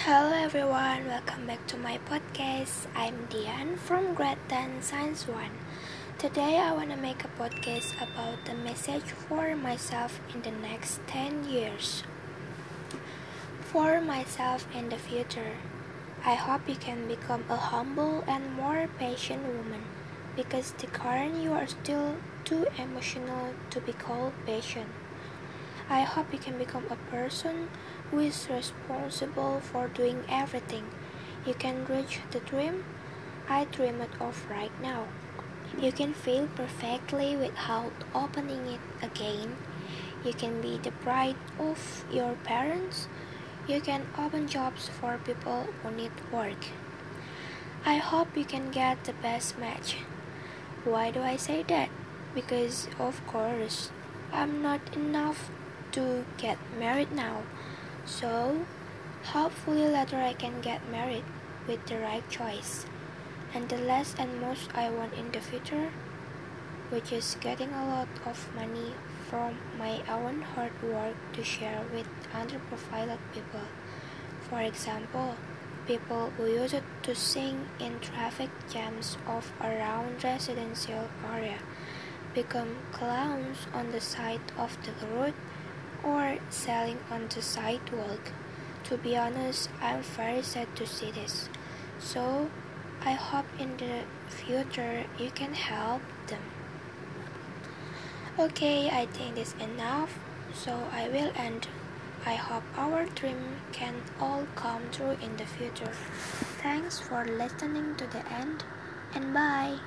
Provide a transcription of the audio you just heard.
Hello everyone, welcome back to my podcast. I'm Dian from Grade 10 Science 1. Today I want to make a podcast about the message for myself in the next 10 years. For myself in the future, I hope you can become a humble and more patient woman, because the current you are still too emotional to be called patient. I hope you can become a person who is responsible for doing everything. You can reach the dream I dream it of right now. You can fail perfectly without opening it again. You can be the bride of your parents. You can open jobs for people who need work. I hope you can get the best match. Why do I say that? Because of course, I'm not enough to get married now. So, hopefully later I can get married with the right choice. And the last and most I want in the future, which is getting a lot of money from my own hard work to share with underprivileged people. For example, people who used to sing in traffic jams of around residential area become clowns on the side of the road or selling on the sidewalk. To be honest, I'm very sad to see this. So, I hope in the future you can help them. Okay, I think this is enough, so I will end. I hope our dream can all come true in the future. Thanks for listening to the end, and bye.